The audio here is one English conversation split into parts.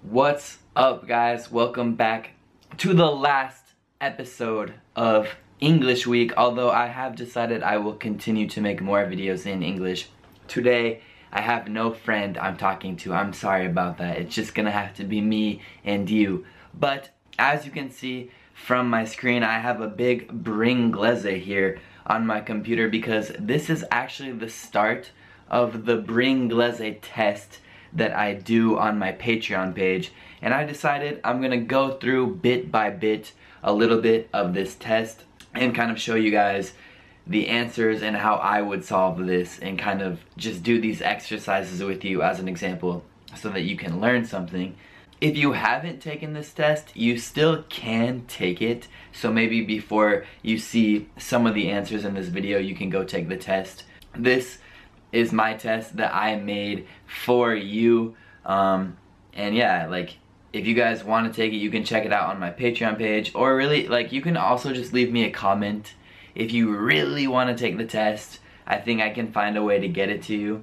What's up, guys? Welcome back to the last episode of English Week, although I have decided I will continue to make more videos in English. Today, I have no friend I'm talking to. I'm sorry about that. It's just gonna have to be me and you. But as you can see from my screen, I have a big Bringlese here on my computer because this is actually the start of the Bringlese test that I do on my Patreon page, and I decided I'm gonna go through bit by bit a little bit of this test and kind of show you guys the answers and how I would solve this, and kind of just do these exercises with you as an example so that you can learn something. If you haven't taken this test, you still can take it, so maybe before you see some of the answers in this video, you can go take the test. This is my test that I made for you, and yeah, like, if you guys want to take it, you can check it out on my Patreon page, or really, like, you can also just leave me a comment if you really want to take the test. I think I can find a way to get it to you,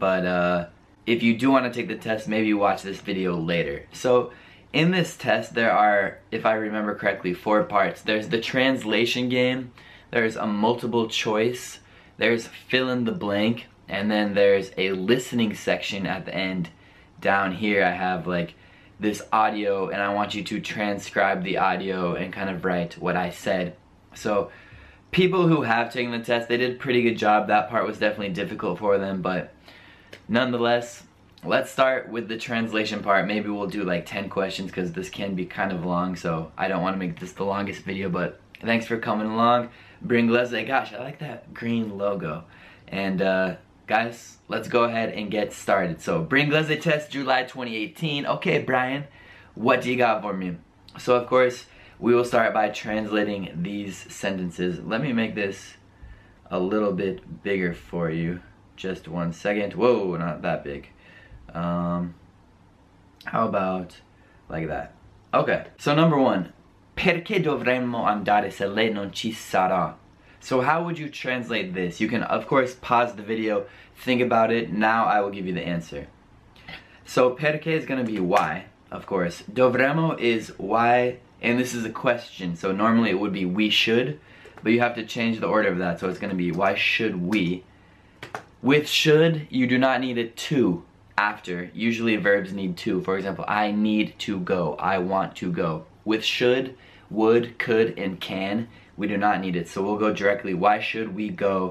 but if you do want to take the test, maybe watch this video later. So in this test, there are, if I remember correctly, 4 parts. There's the translation game, there's a multiple choice, there's fill in the blank, and then there's a listening section at the end. Down here I have like this audio, and I want you to transcribe the audio and kind of write what I said. So people who have taken the test, they did a pretty good job. That part was definitely difficult for them, but nonetheless, let's start with the translation part. Maybe we'll do like 10 questions because this can be kind of long, so I don't want to make this the longest video, but thanks for coming along. Bringlese, gosh, I like that green logo. And guys, let's go ahead and get started. So, Bringlese test, July 2018. Okay, Brian, what do you got for me? So, of course, we will start by translating these sentences. Let me make this a little bit bigger for you. Just 1 second. Whoa, not that big. How about like that? Okay, so number 1. Perché dovremmo andare se lei non ci sarà? So how would you translate this? You can, of course, pause the video, think about it. Now I will give you the answer. So perché is going to be why, of course. Dovremmo is why, and this is a question. So normally it would be we should, but you have to change the order of that. So it's going to be why should we. With should, you do not need a to after. Usually verbs need to. For example, I need to go. I want to go. With should, would, could, and can, we do not need it. So we'll go directly. Why should we go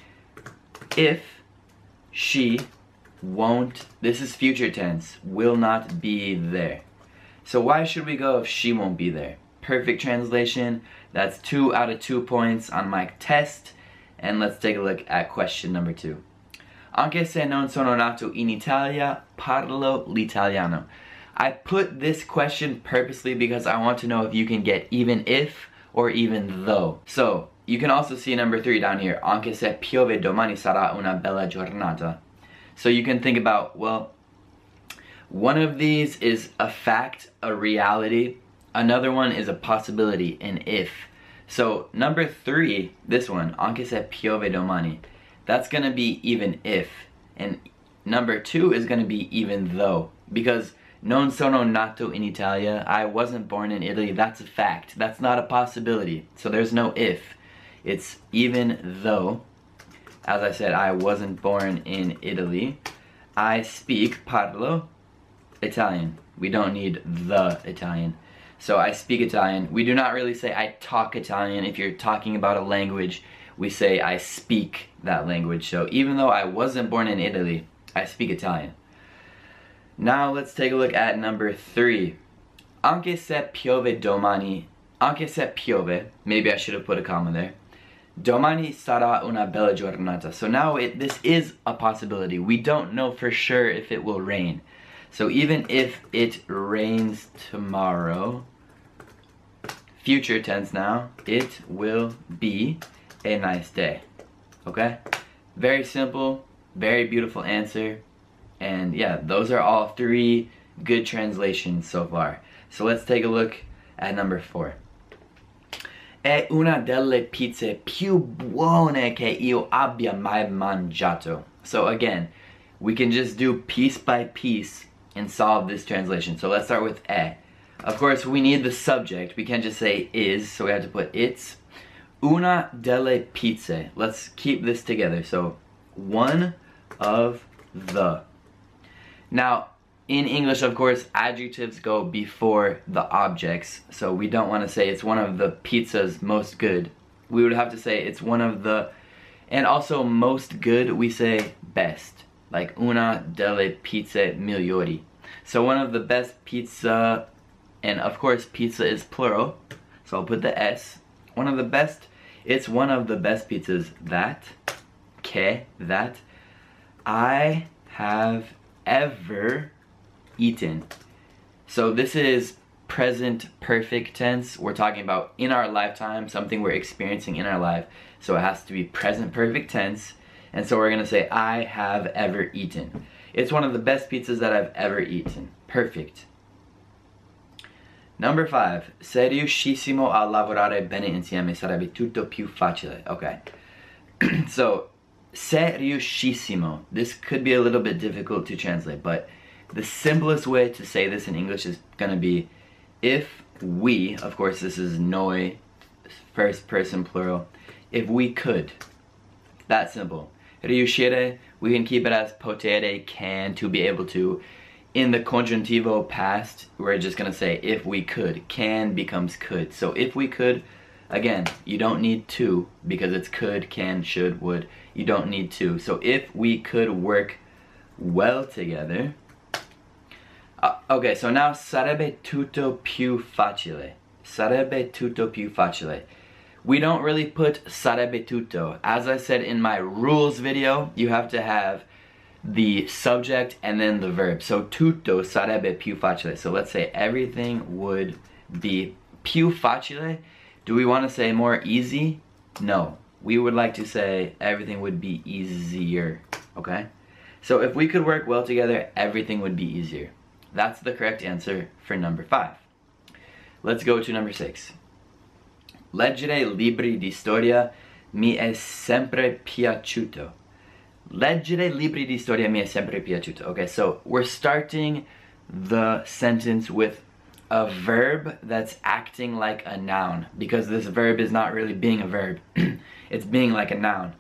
if she won't, this is future tense, will not be there. So why should we go if she won't be there? Perfect translation. That's 2 out of 2 points on my test. And let's take a look at question number 2. Anche se non sono nato in Italia, parlo l'italiano. I put this question purposely because I want to know if you can get even if or even though. So, you can also see number 3 down here. Anche se piove domani sarà una bella giornata. So you can think about, well, one of these is a fact, a reality. Another one is a possibility, an if. So number 3, this one, anche se piove domani, that's gonna be even if. And number 2 is gonna be even though. Because non sono nato in Italia, I wasn't born in Italy, that's a fact. That's not a possibility. So there's no if. It's even though. As I said, I wasn't born in Italy. I speak, parlo, Italian. We don't need the Italian. So I speak Italian. We do not really say I talk Italian. If you're talking about a language, we say I speak that language. So even though I wasn't born in Italy, I speak Italian. Now let's take a look at number 3. Anche se piove domani, anche se piove, maybe I should have put a comma there. Domani sarà una bella giornata. So now this is a possibility. We don't know for sure if it will rain. So even if it rains tomorrow, future tense now, it will be a nice day. Okay? Very simple, very beautiful answer. And yeah, those are all 3 good translations so far. So let's take a look at number 4. È una delle pizze più buone che io abbia mai mangiato. So again, we can just do piece by piece and solve this translation. So let's start with è. Of course, we need the subject. We can't just say is, so we have to put it's una delle pizze. Let's keep this together. So one of the. Now, in English, of course, adjectives go before the objects. So we don't want to say it's one of the pizzas most good. We would have to say it's one of the, and also most good, we say best. Like una delle pizze migliori. So one of the best pizza, and of course pizza is plural, so I'll put the S. One of the best, it's one of the best pizzas that I have ever eaten. So this is present perfect tense. We're talking about in our lifetime, something we're experiencing in our life. So it has to be present perfect tense. And so we're gonna say I have ever eaten. It's one of the best pizzas that I've ever eaten. Perfect. Number 5. Se riuscissimo a lavorare bene insieme sarebbe tutto più facile. Okay. So, se riuscissimo. This could be a little bit difficult to translate, but the simplest way to say this in English is gonna be if we, of course this is noi, first person plural, if we could. That simple. Riuscire, we can keep it as potere, can, to be able to. In the congiuntivo past, we're just gonna say if we could. Can becomes could. So if we could, again, you don't need to because it's could, can, should, would. You don't need to. So if we could work well together. Okay, so now sarebbe tutto più facile. Sarebbe tutto più facile. We don't really put sarebbe tutto. As I said in my rules video, you have to have the subject and then the verb. So tutto sarebbe più facile. So let's say everything would be più facile. Do we want to say more easy? No. We would like to say everything would be easier. Okay? So if we could work well together, everything would be easier. That's the correct answer for number 5. Let's go to number 6. Leggere libri di storia mi è sempre piaciuto. Leggere libri di storia mi è sempre piaciuto. Okay, so we're starting the sentence with a verb that's acting like a noun, because this verb is not really being a verb. It's being like a noun.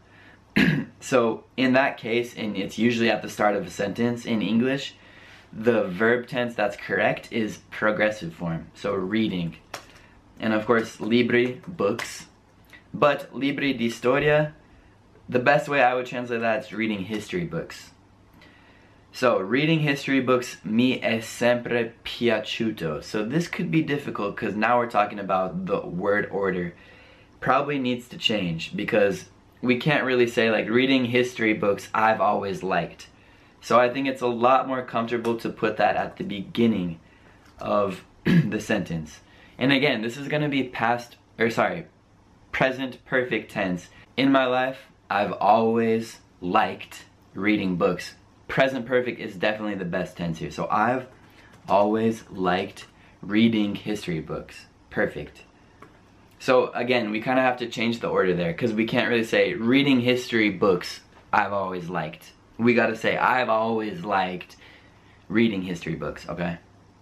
So in that case, and it's usually at the start of a sentence in English, the verb tense that's correct is progressive form. So reading. And of course, libri, books. But libri di storia, the best way I would translate that is reading history books. So, reading history books mi è sempre piaciuto. So this could be difficult because now we're talking about the word order. Probably needs to change because we can't really say like reading history books I've always liked. So I think it's a lot more comfortable to put that at the beginning of the sentence. And again, this is going to be present perfect tense. In my life, I've always liked reading books. Present perfect is definitely the best tense here. So I've always liked reading history books. Perfect. So again, we kind of have to change the order there because we can't really say reading history books I've always liked. We got to say I've always liked reading history books, okay?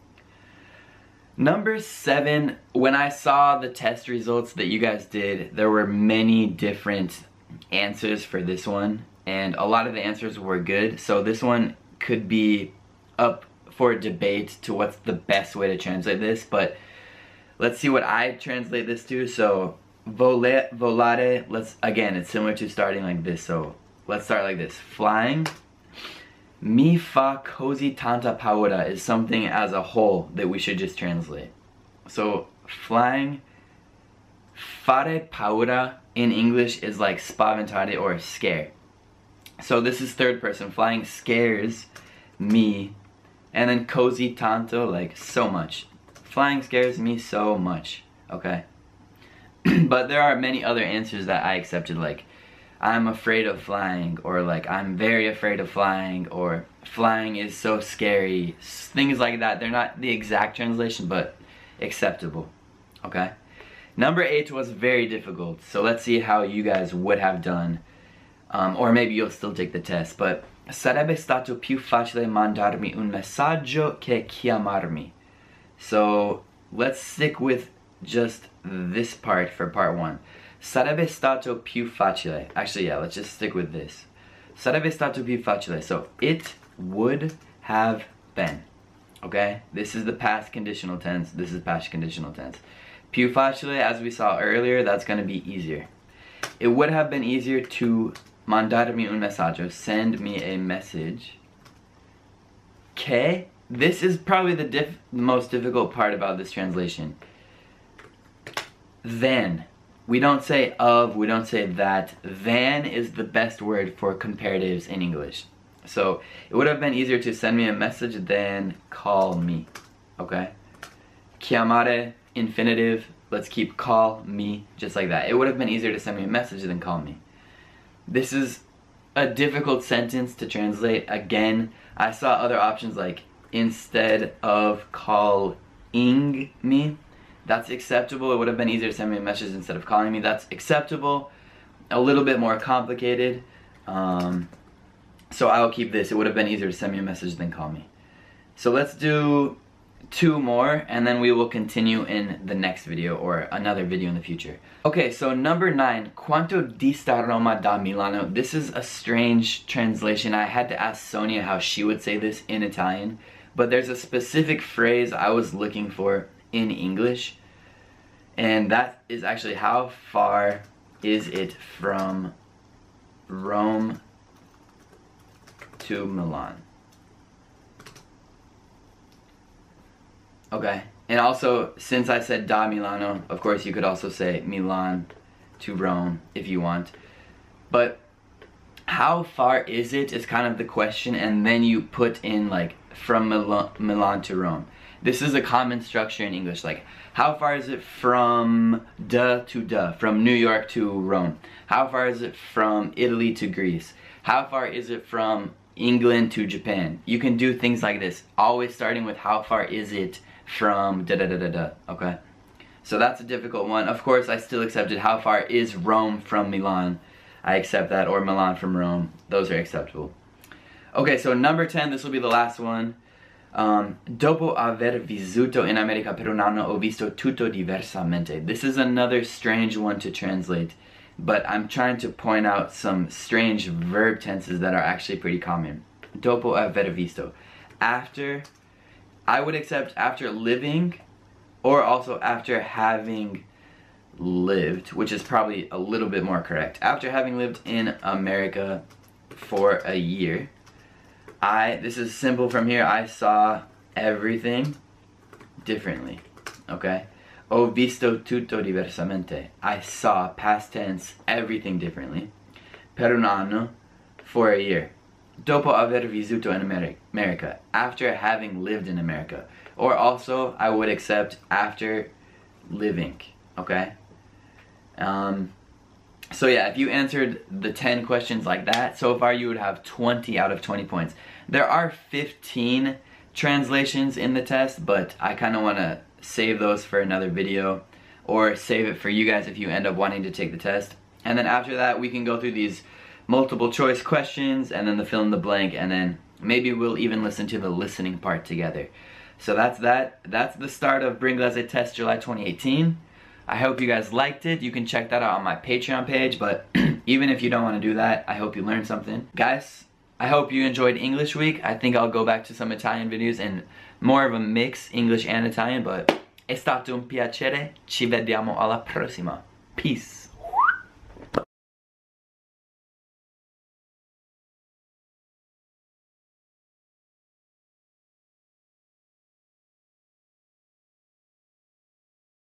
Number 7, when I saw the test results that you guys did, there were many different answers for this one, and a lot of the answers were good, so this one could be up for debate to what's the best way to translate this, but let's see what I translate this to. So volare, again, it's similar to starting like this, so let's start like this. Flying. Mi fa così tanta paura is something as a whole that we should just translate. So flying, fare paura in English is like spaventare or scare. So this is third person. Flying scares me. And then così tanto, like so much. Flying scares me so much. Okay? But there are many other answers that I accepted, like I'm afraid of flying, or like I'm very afraid of flying, or flying is so scary. Things like that. They're not the exact translation, but acceptable. Okay? Number 8 was very difficult, so let's see how you guys would have done. or maybe you'll still take the test, but sarebbe stato più facile mandarmi un messaggio che chiamarmi. So let's stick with just this part for part 1. Sarebbe stato più facile. Actually, yeah, let's just stick with this. Sarebbe stato più facile. So it would have been. Okay? This is the past conditional tense. This is past conditional tense. Più facile, as we saw earlier, that's going to be easier. It would have been easier to mandarmi un messaggio, send me a message. Che, this is probably the most difficult part about this translation. Than. We don't say of, we don't say that. Than is the best word for comparatives in English. So it would have been easier to send me a message than call me. Okay? Chiamare, infinitive. Let's keep call me just like that. It would have been easier to send me a message than call me. This is a difficult sentence to translate. Again, I saw other options like instead of calling me. That's acceptable. It would have been easier to send me a message instead of calling me. That's acceptable. A little bit more complicated. So I'll keep this. It would have been easier to send me a message than call me. So let's do 2 more and then we will continue in the next video or another video in the future. Okay, so number 9, quanto dista Roma da Milano. This is a strange translation. I had to ask Sonia how she would say this in Italian, but there's a specific phrase I was looking for in English, and that is actually how far is it from Rome to Milan. Okay, and also since I said da Milano, of course you could also say Milan to Rome if you want, but how far is it is kind of the question, and then you put in like from Milan to Rome. This is a common structure in English, like how far is it from from New York to Rome? How far is it from Italy to Greece? How far is it from England to Japan? You can do things like this, always starting with how far is it from okay? So that's a difficult one. Of course, I still accepted how far is Rome from Milan. I accept that, or Milan from Rome. Those are acceptable. Okay, so number 10, this will be the last one. Dopo aver vissuto in America per un anno ho visto tutto diversamente. This is another strange one to translate, but I'm trying to point out some strange verb tenses that are actually pretty common. Dopo aver visto. After, I would accept after living, or also after having lived, which is probably a little bit more correct. After having lived in America for a year, this is simple from here, I saw everything differently, okay? Ho visto tutto diversamente. I saw, past tense, everything differently. Per un anno, for a year. Dopo aver vissuto in America, after having lived in America. Or also, I would accept after living, okay? So yeah, if you answered the 10 questions like that, so far you would have 20 out of 20 points. There are 15 translations in the test, but I kind of want to save those for another video, or save it for you guys if you end up wanting to take the test. And then after that, we can go through these multiple choice questions, and then the fill in the blank, and then maybe we'll even listen to the listening part together. So that's that. That's the start of Bringlese Test July 2018. I hope you guys liked it. You can check that out on my Patreon page, but even if you don't want to do that, I hope you learned something. Guys, I hope you enjoyed English week. I think I'll go back to some Italian videos and more of a mix, English and Italian, but è stato un piacere. Ci vediamo alla prossima. Peace.